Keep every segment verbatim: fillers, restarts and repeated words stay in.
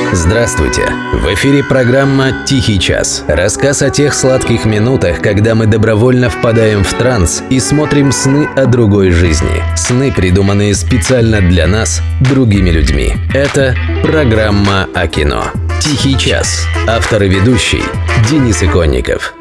Здравствуйте! В эфире программа «Тихий час». Рассказ о тех сладких минутах, когда мы добровольно впадаем в транс и смотрим сны о другой жизни. Сны, придуманные специально для нас, другими людьми. Это программа о кино. «Тихий час». Автор и ведущий Денис Иконников.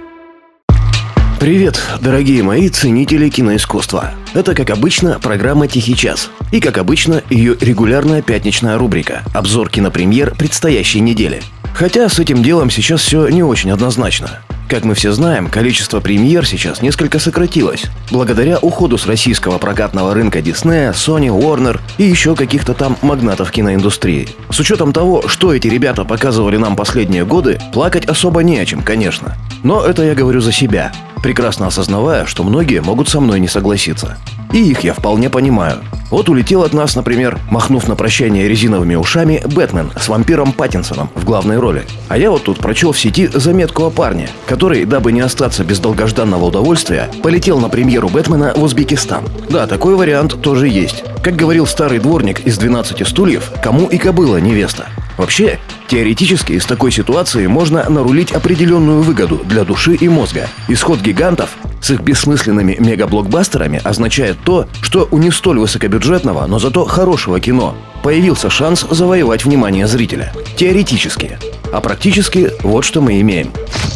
Привет, дорогие мои ценители киноискусства. Это, как обычно, программа «Тихий час». И, как обычно, ее регулярная пятничная рубрика «Обзор кинопремьер предстоящей недели». Хотя с этим делом сейчас все не очень однозначно. Как мы все знаем, количество премьер сейчас несколько сократилось, благодаря уходу с российского прокатного рынка Disney, Sony, Warner и еще каких-то там магнатов киноиндустрии. С учетом того, что эти ребята показывали нам последние годы, плакать особо не о чем, конечно. Но это я говорю за себя, прекрасно осознавая, что многие могут со мной не согласиться. И их я вполне понимаю. Вот улетел от нас, например, махнув на прощание резиновыми ушами, Бэтмен с вампиром Паттинсоном в главной роли. А я вот тут прочел в сети заметку о парне, который, дабы не остаться без долгожданного удовольствия, полетел на премьеру Бэтмена в Узбекистан. Да, такой вариант тоже есть. Как говорил старый дворник из двенадцати стульев, кому и кобыла невеста. Вообще, теоретически из такой ситуации можно нарулить определенную выгоду для души и мозга. Исход гигантов с их бессмысленными мегаблокбастерами означает то, что у не столь высокобюджетного, но зато хорошего кино появился шанс завоевать внимание зрителя. Теоретически. А практически вот что мы имеем.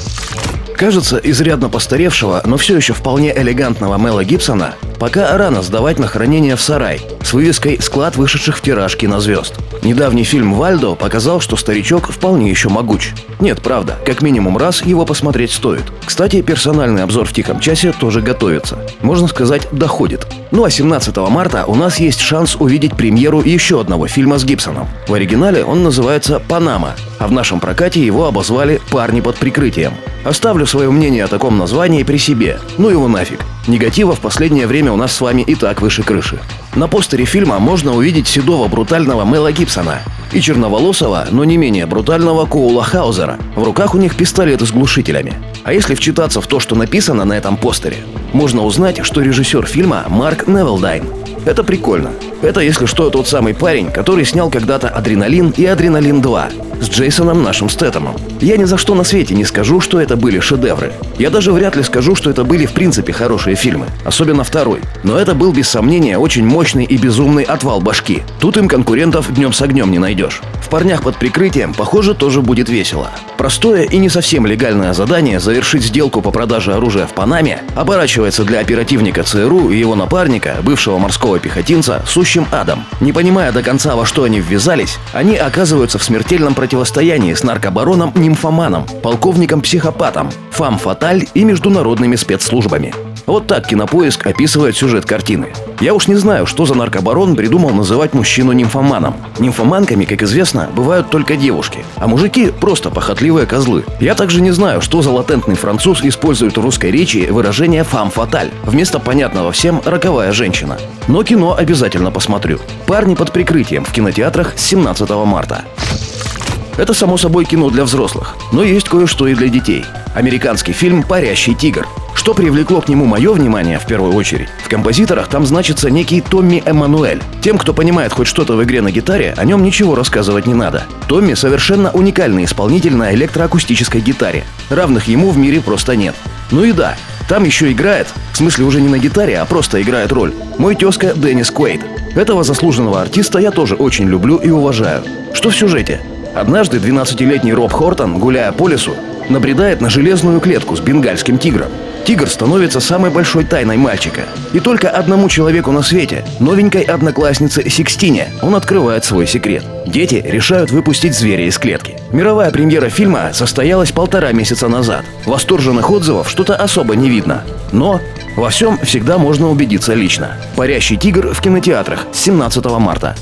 Кажется, изрядно постаревшего, но все еще вполне элегантного Мела Гибсона пока рано сдавать на хранение в сарай с вывеской «Склад вышедших в тираж кинозвезд». Недавний фильм «Вальдо» показал, что старичок вполне еще могуч. Нет, правда, как минимум раз его посмотреть стоит. Кстати, персональный обзор в «Тихом часе» тоже готовится. Можно сказать, доходит. Ну а семнадцатого марта у нас есть шанс увидеть премьеру еще одного фильма с Гибсоном. В оригинале он называется «Панама», а в нашем прокате его обозвали «Парни под прикрытием». Оставлю свое мнение о таком названии при себе. Ну его нафиг. Негатива в последнее время у нас с вами и так выше крыши. На постере фильма можно увидеть седого брутального Мела Гибсона и черноволосого, но не менее брутального Коула Хаузера. В руках у них пистолеты с глушителями. А если вчитаться в то, что написано на этом постере, можно узнать, что режиссер фильма Марк Невилдайн. Это прикольно. Это, если что, тот самый парень, который снял когда-то «Адреналин» и «Адреналин два» с Джейсоном нашим Стэтэмом. Я ни за что на свете не скажу, что это были шедевры. Я даже вряд ли скажу, что это были в принципе хорошие фильмы, особенно второй. Но это был без сомнения очень мощный и безумный отвал башки. Тут им конкурентов днем с огнем не найдешь. В «Парнях под прикрытием», похоже, тоже будет весело. Простое и не совсем легальное задание завершить сделку по продаже оружия в Панаме оборачивается для оперативника ЦРУ и его напарника, бывшего морского пехотинца, сущим адом. Не понимая до конца, во что они ввязались, они оказываются в смертельном противостоянии с наркобароном-нимфоманом, полковником-психопатом, фам-фаталь и международными спецслужбами. Вот так Кинопоиск описывает сюжет картины. Я уж не знаю, что за наркобарон придумал называть мужчину нимфоманом. Нимфоманками, как известно, бывают только девушки, а мужики просто похотливые козлы. Я также не знаю, что за латентный француз использует в русской речи выражение «фам-фаталь» вместо понятного всем «роковая женщина». Но кино обязательно посмотрю. «Парни под прикрытием» в кинотеатрах с семнадцатого марта. Это, само собой, кино для взрослых, но есть кое-что и для детей. Американский фильм «Парящий тигр». Что привлекло к нему мое внимание в первую очередь? В композиторах там значится некий Томми Эммануэль. Тем, кто понимает хоть что-то в игре на гитаре, о нем ничего рассказывать не надо. Томми совершенно уникальный исполнитель на электроакустической гитаре. Равных ему в мире просто нет. Ну и да, там еще играет, в смысле уже не на гитаре, а просто играет роль, мой тезка Деннис Куэйд. Этого заслуженного артиста я тоже очень люблю и уважаю. Что в сюжете? Однажды двенадцатилетний Роб Хортон, гуляя по лесу, набредает на железную клетку с бенгальским тигром. Тигр становится самой большой тайной мальчика. И только одному человеку на свете, новенькой однокласснице Сикстине, он открывает свой секрет. Дети решают выпустить зверя из клетки. Мировая премьера фильма состоялась полтора месяца назад. Восторженных отзывов что-то особо не видно. Но во всем всегда можно убедиться лично. «Парящий тигр» в кинотеатрах с семнадцатого марта.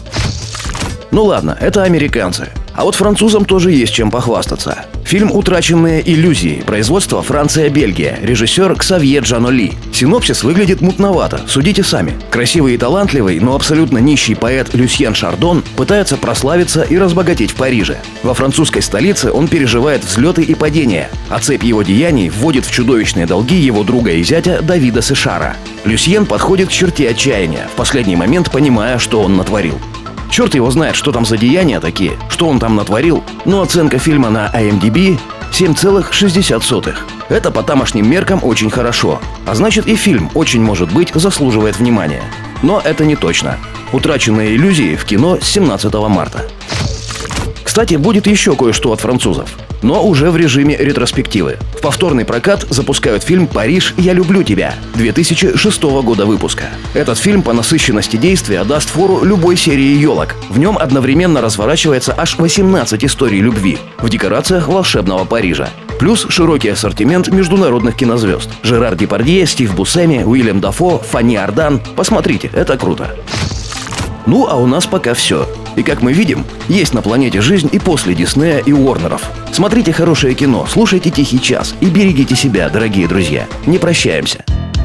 Ну ладно, это американцы. А вот французам тоже есть чем похвастаться. Фильм «Утраченные иллюзии», производство Франция-Бельгия, режиссер Ксавье Джаноли. Синопсис выглядит мутновато, судите сами. Красивый и талантливый, но абсолютно нищий поэт Люсьен Шардон пытается прославиться и разбогатеть в Париже. Во французской столице он переживает взлеты и падения, а цепь его деяний вводит в чудовищные долги его друга и зятя Давида Сешара. Люсьен подходит к черте отчаяния, в последний момент понимая, что он натворил. Черт его знает, что там за деяния такие, что он там натворил, но оценка фильма на ай эм ди би семь целых шестьдесят сотых. Это по тамошним меркам очень хорошо, а значит и фильм, очень может быть, заслуживает внимания. Но это не точно. «Утраченные иллюзии» в кино с семнадцатого марта. Кстати, будет еще кое-что от французов, но уже в режиме ретроспективы. В повторный прокат запускают фильм «Париж, я люблю тебя» две тысячи шестого года выпуска. Этот фильм по насыщенности действия даст фору любой серии елок. В нем одновременно разворачивается аж восемнадцать историй любви в декорациях волшебного Парижа. Плюс широкий ассортимент международных кинозвезд. Жерар Депардье, Стив Бусцеми, Уильям Дафо, Фанни Ардан. Посмотрите, это круто. Ну, а у нас пока все. И как мы видим, есть на планете жизнь и после Диснея и Уорнеров. Смотрите хорошее кино, слушайте «Тихий час» и берегите себя, дорогие друзья. Не прощаемся.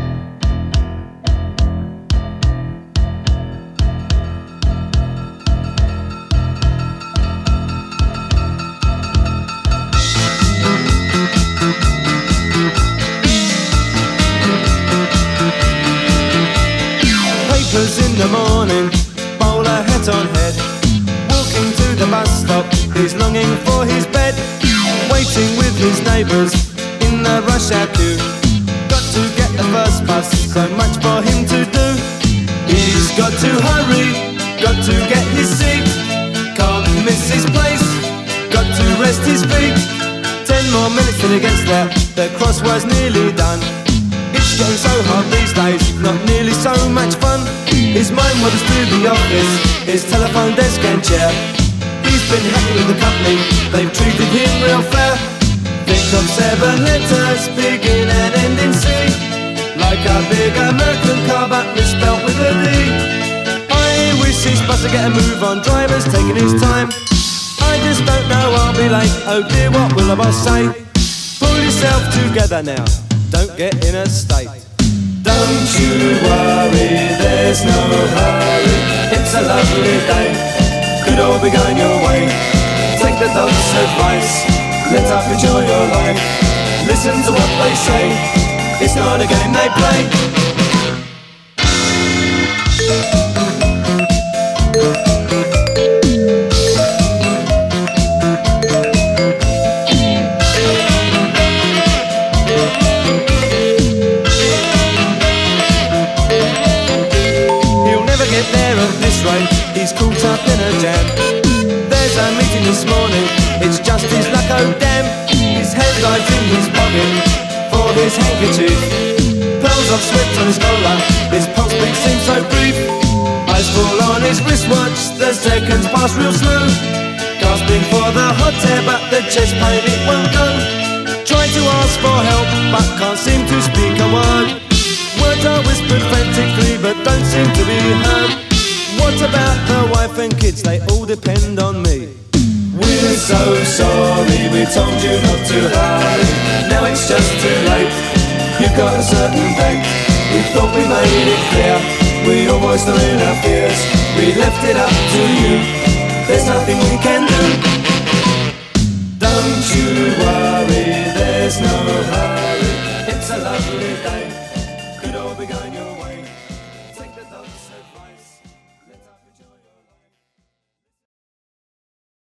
In the morning, bowler hat on head, walking to the bus stop, he's longing for his bed, waiting with his neighbours in the rush hour queue. Got to get the first bus, so much for him to do. He's got to hurry, got to get his seat, can't miss his place, got to rest his feet. Ten more minutes till he gets there, the crossword's nearly done. It's getting so hard these days, not nearly so much fun. His mind wanders to the office, his telephone desk and chair. He's been happy with the company, they've treated him real fair. Think of seven letters, begin and end in C, like a big American car but misspelt with a D. I wish his boss would get a move on, driver's taking his time. I just don't know, I'll be late, oh dear, what will the boss say? Pull yourself together now, don't get in a state. Don't you worry, there's no hurry, it's a lovely day, could all be going your way. Take the dog's advice, let up, enjoy your life, listen to what they say, it's not a game they play. He's caught up in a jam. There's a meeting this morning, it's just his luck, oh damn. His headlights in his pocket for his handkerchief, pearls of sweat on his collar, his pulse beat seems so brief. Eyes fall on his wristwatch, the seconds pass real slow. Gasping for the hot air but the chest pain it won't go. Trying to ask for help but can't seem to speak a word. Words are whispered frantically but don't seem to be heard. What about the wife and kids? They all depend on me. We're so sorry, we told you not to hurry. Now it's just too late, you've got a certain date. We thought we made it clear, we all voiced our fears. We left it up to you, there's nothing we can do. Don't you worry,